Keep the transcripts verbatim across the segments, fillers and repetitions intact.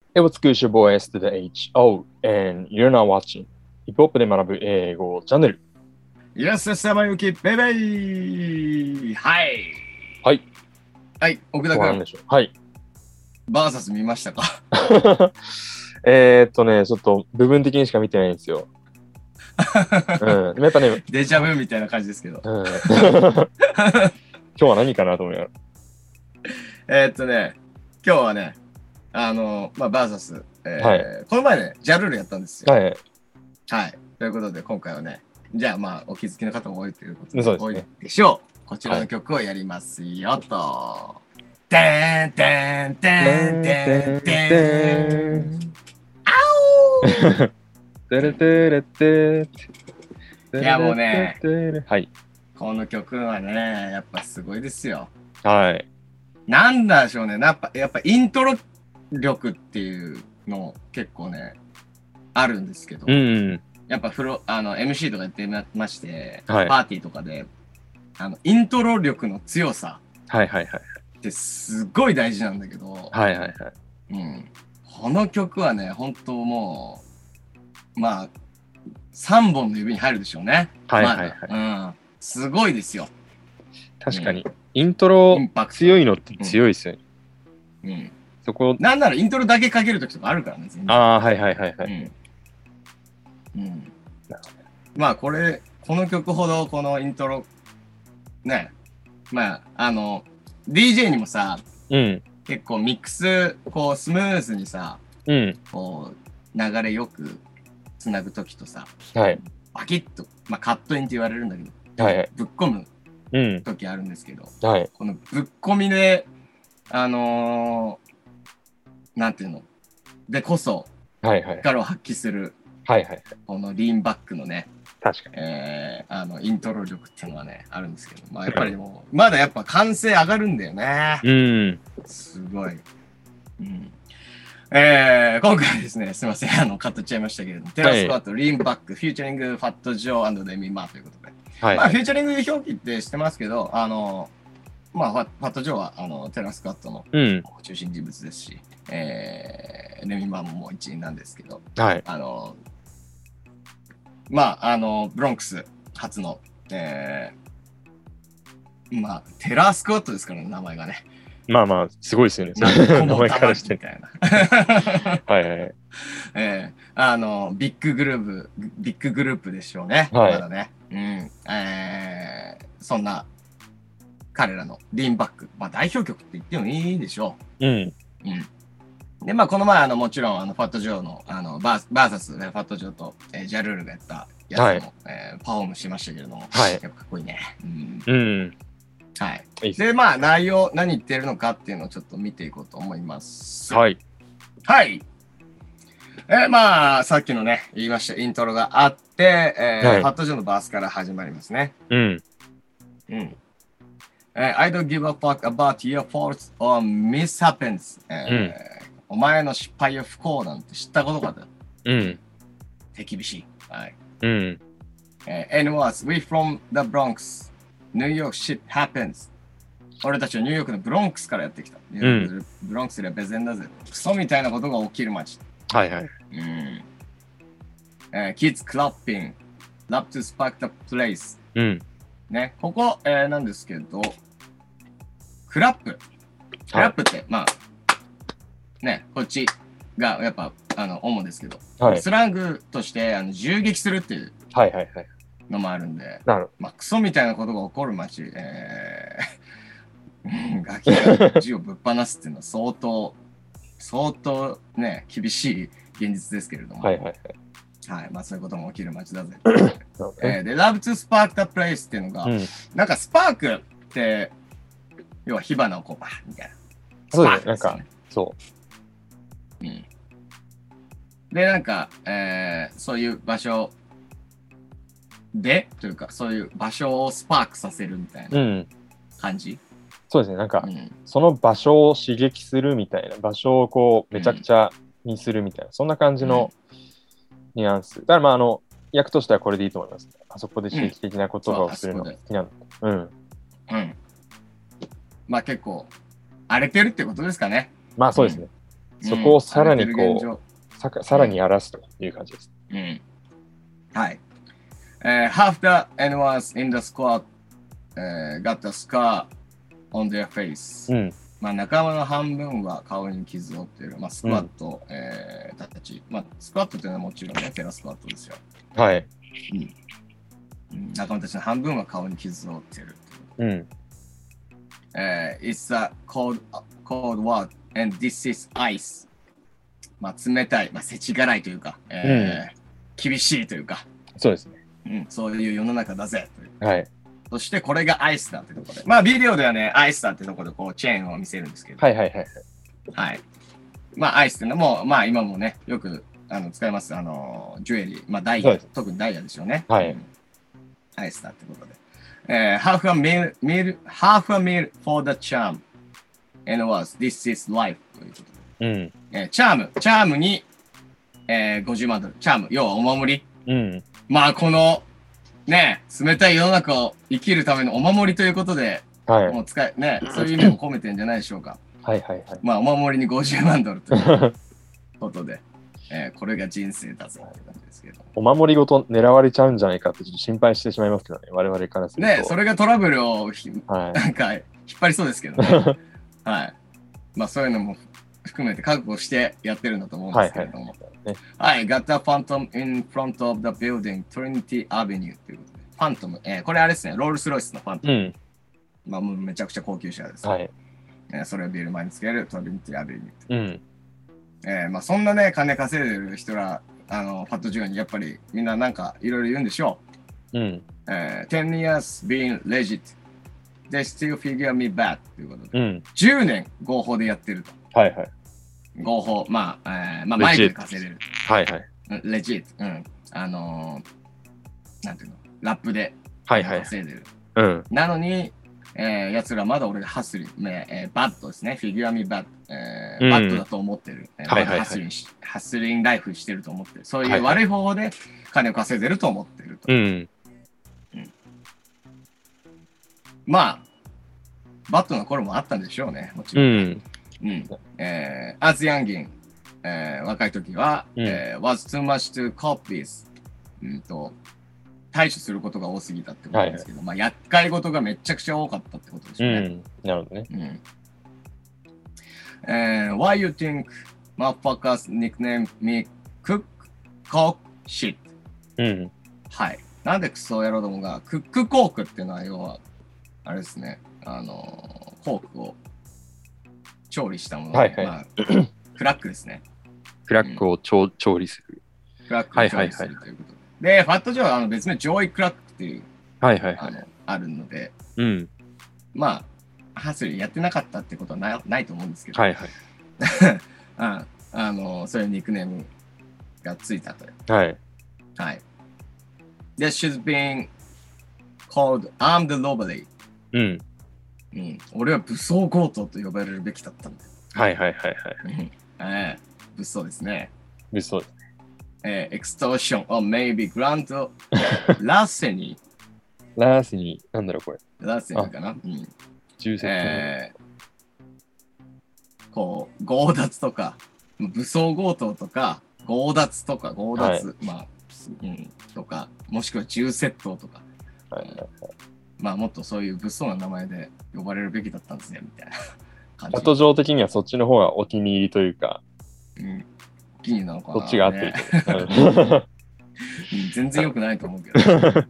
Hey, what's good, your boy S to the H O, and you're not watching ヒップホップで学ぶ英語チャンネル。 イエス、山行き、ベイベイはい。 はい。 はい、奥田君。 どうなんでしょう。はい。 バーサス見ましたか？ えっとね、ちょっと部分的にしか見てないんですよ。うん。でもやっぱね、 デジャブみたいな感じですけど。 うん、今日は何かなと思いながら。えっとね、今日はね、あの、まあ、バーサス、えーはい、この前ね、ジャルールやったんですよ。 はい。 はい。ということで、今回はね、じゃあまあ、お気づきの方も多いということで、 そうですね、 多いでしょう。こちらの曲をやりますよと。はい、てんてんてんてんてん。あおーてれてれていやもうね、 はい。 この曲はね、やっぱすごいですよ。 はい。 なんだでしょうね。やっぱ、やっぱイントロ力っていうの結構ね、あるんですけど、 うんうん、 やっぱフロあの エムシー とかやってまして、 はい、 パーティーとかで、あのイントロ力の強さってすごい大事なんだけど、 はいはいはい。 うん、この曲はね、本当もう、まあ、さんぼんの指に入るでしょうね。 はいはいはい。 まあ、うん、すごいですよ。 確かに、うん、イントロ強いのって強いですよね。 うん。うん、 そこなんならイントロだけかけるときとかあるからね。 ああ、はいはいはいはい。 うん。うん、まあ、これ、この曲ほどこのイントロ、ね、まあ、あの、ディージェー にもさ、うん、結構ミックス、こう、スムーズにさ、うん、こう、流れよくつなぐときとさ、はい、バキッと、まあ、カットインって言われるんだけど、はいはい、ぶっ込むときあるんですけど、うん、はい、このぶっ込みで、あのー、なんていうの、でこそ、はいはい、力を発揮する、はいはいはい、このリーンバックのね、 確かに、 えー、あのイントロ力っていうのはねあるんですけど、まあ、やっぱりもうまだやっぱ完成上がるんだよね。うん、すごい。うん、えー、今回はですね、すみません、あのカットっちゃいましたけれども、テラスコアとリーンバック、フューチャリングファットジョー&デミマーということで、はい、まあフューチャリング表記ってしてますけど、あのまあファファットジョーはあのテラスコアとの中心人物ですし、うん、えー、レミマーももう一員なんですけど、はい、あのまあ、あの、ブロンクス初の、えー、まあ、テラースクワットですからね、名前がね。 まあまあ、すごいですよね。 名前からして。みたいな。 はいはい。 えー、あの、ビッググループ、ビッググループでしょうね。はい、まだね。うん。えー、そんな、彼らのリーンバック。まあ、代表曲って言ってもいいでしょう。うん。うん。で、まあ、この前、あの、もちろん、あの、ファットジョーの、あの、バーバーサス、ね、ファットジョーと、えー、ジャルールがやったやつも、はい、えー、パフォームしましたけれども、はい、やっぱかっこいいね。うん。うん、はい。いいで、まあ、内容、何言ってるのかっていうのをちょっと見ていこうと思います。はい。はい。えー、まあ、さっきのね、言いました、イントロがあって、えーはい、ファットジョーのバースから始まりますね。うん。うん。Uh, I don't give a fuck about your faults or mishaps、uh, うん、お前の失敗や不幸なんて知ったことかだ。うん。手厳しい。はい。うん。Uh, and was we from the Bronx. New York shit happens. 俺たちはニューヨークのブロンクスからやってきた。うん、ブロンクスでは別然だぜ。クソみたいなことが起きる街。はいはい。うん。Uh, kids clapping. Love to spark the place. うん。ね、ここ、えー、なんですけど、クラップ。クラップって、はい、まあ、ね、こっちがやっぱ、あの、主ですけど、はい、スラングとして、あの、銃撃するっていうのもあるんで、はいはいはい、まあ、クソみたいなことが起こる街、えー、ガキが銃をぶっ放すっていうのは相当、相当ね、厳しい現実ですけれども、はいはいはい。はい、まあそういうことも起きる街だぜ。えー、で、Love to Spark the Place っていうのが、うん、なんかスパークって、要は火花をこうバーみたいな。 そうですね、なんか、そう。 うん。で、なんか、えー、そういう場所で、というか、そういう場所をスパークさせるみたいな感じ、うん、 そうですね、なんか、うん、その場所を刺激するみたいな、場所をこう、めちゃくちゃにするみたいな、うん、そんな感じのニュアンス。だから、まあ、あの、役としてはこれでいいと思います、ね。あそこで刺激的な言葉をするのが好きなんだ。うん。うん。 まあ結構荒れてるってことですかね。 まあそうですね。 そこをさらにこう、さ, さらに荒らすという感じです。 うん。はい。Uh, half the anyone in the squad、uh, got a scar on their face、うん。まあ仲間の半分は顔に傷を負っている。まあスクワット、うんえー、たち。まあスクワットというのはもちろんね、テラスクワットですよ。 はい。 うん、仲間たちの半分は顔に傷を負っている。 うん。 Uh, it's a cold, cold word and this is ice. まあ冷たい、まあ世知辛いというか、えーうん、厳しいというか。 そうですね。 うん、そういう世の中だぜという。 はい。 そしてこれがアイスだってところで。まあビデオではね、アイスだってところでこうチェーンを見せるんですけど。 はいはいはい。 はい。まあアイスっていうのも、まあ今もね、よくあの使います。あの、ジュエリー、まあダイヤ、特にダイヤでしょうね。 はい。うん、 アイスだってことで。えー、half a meal, meal, half a meal for the charm. And was, this is life. ということで。うんえー、チャーム、チャームに、えー、ごじゅうまんドル。チャーム、要はお守り。うん。まあこの、ね、冷たい世の中を生きるためのお守りということで、はい、もう使い、ね、そういう意味も込めてるんじゃないでしょうか。 はいはいはい。 まあお守りにごじゅうまんドルということで、えー、これが人生だぞって感じですけど。 お守りごと狙われちゃうんじゃないかってちょっと心配してしまいますけどね、我々からすると。 ね、それがトラブルを、はい、なんか引っ張りそうですけどね。はい。まあそういうのも含めて覚悟してやってるんだと思うんですけれども。はい、はい。Got a phantom in front of the building, Trinity Avenue ということで。ファントム、えー、これあれですね、ロールスロイスのファントム。うん、まあもうめちゃくちゃ高級車です。はい。えー、それをビル前につける Trinity Avenue。うん。えー、まあそんなね、金稼いでる人ら、あの、ファットジュアにやっぱりみんななんかいろいろ言うんでしょう。うん。えー、ten years being legit. They still figure me bad ということで。うん。じゅうねん合法でやってると。はいはい。合法、まあ、えー、まあマイクで稼いでる。はいはい。レジット。うん。あのー、なんていうの、ラップで稼いでる。はいはい、うん。なのに、えー、やつらまだ俺がハッスリ、えー、バッドですね。フィギュアミバッド、えーうん、バッドだと思ってる。えーはいはいはい、ハッスリン、ハッスリンライフしてると思ってる。そういう悪い方法で金を稼いでると思ってると。はいはいうんうん、まあ、バッドの頃もあったんでしょうね。もちろん。うんうんえー、as youngin、えー、若い時は、うんえー、was too much to cope with、うんと対処することが多すぎたってことですけど、はいはい、まあ厄介事がめちゃくちゃ多かったってことですよね。うん、なるほどね。うんえー、Why you think motherfuckers nickname me cook cock shit？ うん。はい。なんでクソ野郎どもがクックコークっていうのは要はあれですね、あのー、コークを調理したもの、はいはいまあ、クラックですね。 クラックを調、うん、調理する。 クラックを調理するということで。はいはいはい、で、ファットジョーはあの別名ジョーイクラックっていう、はいはいはい、あのあるので、うん、まあ、ハスリーやってなかったってことはな い, ないと思うんですけど、はいはい、あ, あのそういうニックネームがついたという。はい。はい。で、she's being called armed robbery。うん。うん、俺は武装強盗と呼ばれるべきだったんだよ。 はいはいはいはい。えー、物騒ですね。 物騒ですね。 えー、extortion or maybe grand larceny。 ラーセニー、なんだろうこれ。 ラーセニーかな。うん。 銃窃盗。えー、こう、強奪とか、武装強盗とか、強奪とか、強奪、はい、まあ、うん、とか、もしくは銃窃盗とか。はいはいはい。まあもっとそういう物騒な名前で呼ばれるべきだったんですねみたいな感じ。 チャット上的にはそっちの方がお気に入りというか、 うん、お気に入りなのかな、ね。 そっちが合ってると、 うん。全然良くないと思うけど。はい。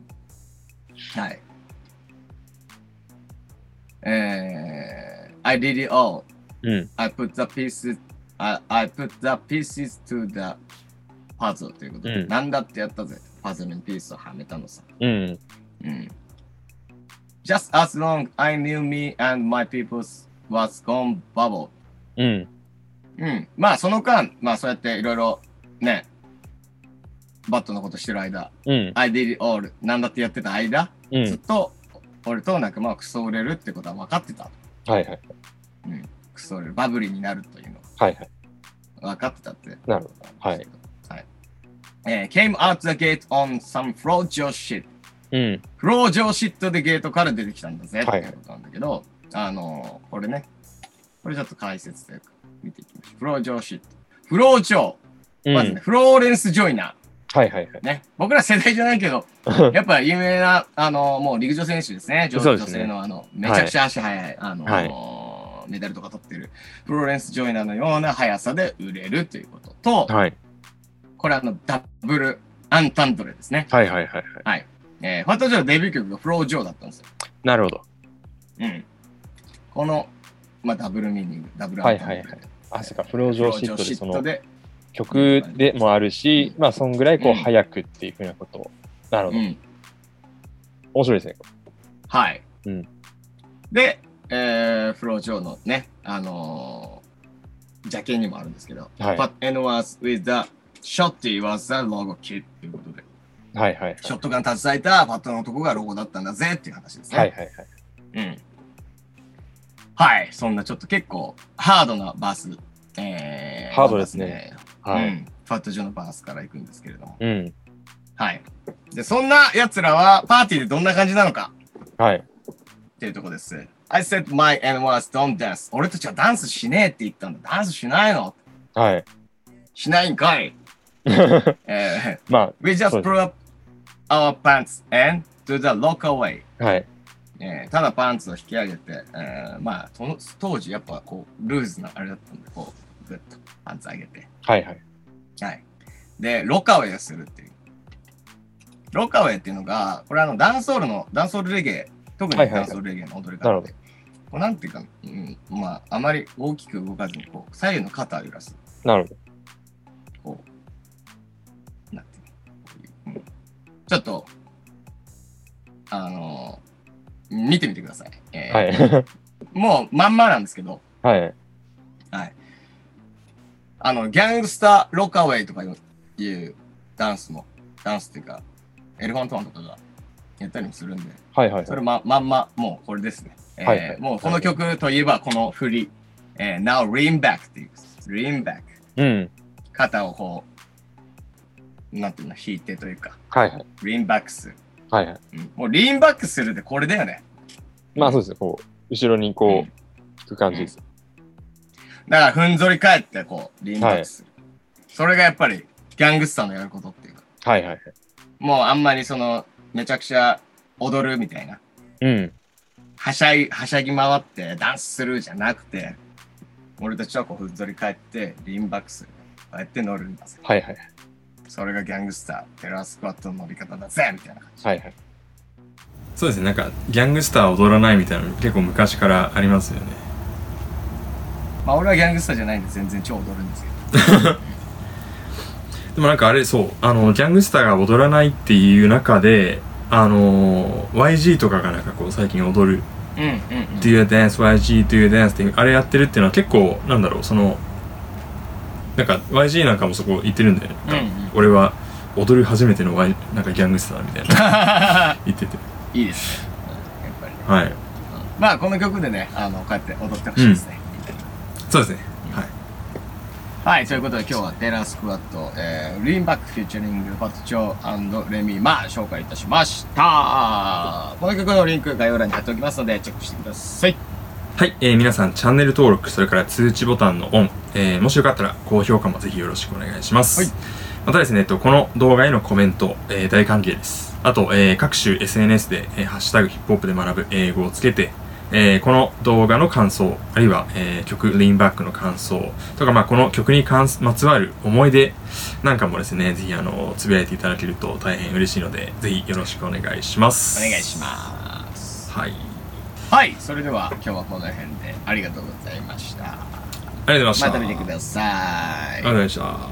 えー、I did it all、うん。I put the pieces, I, I put the pieces to the puzzle ということで、うん、なんだってやったぜ。パズルにピースをはめたのさ。うん。うんJust as long I knew me and my people was gone bubble. うん。うん。まあその間、まあそうやっていろいろね、バットのことしてる間、うん、I did it all なんだってやってた間、うん、ずっと俺と仲間はクソ売れるってことは分かってた。はいはい。うん。クソ売れる。バブリーになるというの。はいはい。分かってたって。 なるほど。はい。 はい。えー、came out the gate on some fraudulent shit.うん、フロー上シットでゲートから出てきたんだぜっていうことなんだけど、はい、あのー、これね、これちょっと解説というか、 見ていきましょう。フロージョーシット。フロージョー。まずね、うん、フローレンス・ジョイナー。はいはいはい。 ね。僕ら世代じゃないけど、やっぱ有名な、あの、もう陸上選手ですね。女, 女性の、あの、めちゃくちゃ足速い、はい、あの、はい、メダルとか取ってる、フローレンス・ジョイナーのような速さで売れるということと、はい、これあの、ダブル・アンタンドレですね。 はいはいはい、はい。 はい。えー、ファット・ジョーのデビュー曲がフロー・ジョーだったんですよ。 なるほど。 うん。この、まあ、ダブルミーニング、ダブルアンタンドレ。はいはいはい。 あ、そうか、フロージョーシットで、その、曲でもあるし、まあ、そんぐらいこう、早くっていうふうなことを。なるほど。うん、面白いですね。 はい。うん、で、えー、フロージョーのね、あのー、ジャケにもあるんですけど、はい、But N was with the shotty was the logo kid ということで、 はいはい、はい。 ショットガン携えたパットの男がロゴだったんだぜっていう話ですね。 はいはいはい。 うん。はい。そんなちょっと結構ハードなバース。えー、 ハードですね。 はい、うん。ファットジョーのバースから行くんですけれども。うん。はい。で、そんな奴らはパーティーでどんな感じなのか。 はい。 っていうとこです。I said my N was don't dance. 俺たちはダンスしねえって言ったんだ。ダンスしないの？ はい。 しないんかい。えー、まあ、We just pull up our pants and do the local way. はい。 えー、ただパンツを引き上げて、えー、まあその当時やっぱこうルーズなあれだったんで、こうグッとパンツ上げて、 はいはいはい。でロカウェイをするっていう。ロカウェイっていうのがこれあのダンソールのダンソールレゲエ、特にダンソールレゲエの踊り方で、はいはいはい、こうなんていうか、うん、まああまり大きく動かずにこう左右の肩を揺らす。 なるほど。 こうなんていうの、うん、ちょっとあのー。見てみてください。えー、はい。もうまんまなんですけど。 はい。 はい。あの、ギャングスターロカウェイとかいうダンスも、ダンスっていうか、エレファントマンとかがやったりもするんで。 はいはい、はい。 それま、まんま、もうこれですね。えーはいはい、もうこの曲といえばこの振り。えー、Now lean back っていう。lean back。 うん。 肩をこう、なんていうの、引いてというか。 はいはい。 lean back する。 はいはい、 うん。もうリーンバックするでこれだよね。 まあそうですね。こう、後ろにこう、うん、引く感じです。 うん、だからふんぞり返ってこう、リーンバックする、はい。それがやっぱりギャングスターのやることっていうか。 はいはいはい。 もうあんまりその、めちゃくちゃ踊るみたいな。 うん。 はしゃい、はしゃぎ回ってダンスするじゃなくて、俺たちはこうふんぞり返ってリーンバックする。こうやって乗るんだぜ。 はいはい。 それがギャングスター、テラースクワットの乗り方だぜみたいな感じ。 はいはい。 そうですね、なんかギャングスター踊らないみたいなの結構昔からありますよね。 まあ俺はギャングスターじゃないんで全然超踊るんですけど。 でもなんかあれ、そうあのギャングスターが踊らないっていう中で、あの ワイジー とかがなんかこう最近踊る、 うんうんうん、 Do you dance ワイジー Do you dance ってあれやってるっていうのは結構なんだろう、そのなんか ワイジー なんかもそこ言ってるんだよね。うんうん、俺は踊る初めての、y、なんかギャングスターみたいな言ってていいですね、やっぱり、ね。 はい。 まあこの曲でね、あのこうやって踊ってほしいですね。 うん、そうですね。はい。 はい、ということで今日はテラースクワット、えー、リーンバックフューチャリングファットチョー&レミーマー紹介いたしました。この曲のリンク概要欄に貼っておきますのでチェックしてください。 はい、えー、皆さんチャンネル登録、それから通知ボタンのオン、えー、もしよかったら高評価もぜひよろしくお願いします。はい、またですね、えっと、この動画へのコメント、えー、大歓迎です。あと、えー、各種 エスエヌエス で、えー、ハッシュタグヒップホップで学ぶ英語をつけて、えー、この動画の感想、あるいは、えー、曲リーンバックの感想とか、まあ、この曲に関すまつわる思い出なんかもですね、ぜひあのつぶやいていただけると大変嬉しいので、ぜひよろしくお願いします。 お願いします。 はい。 はい、それでは今日はこの辺でありがとうございました。ありがとうございました。 また見てください。 ありがとうございました。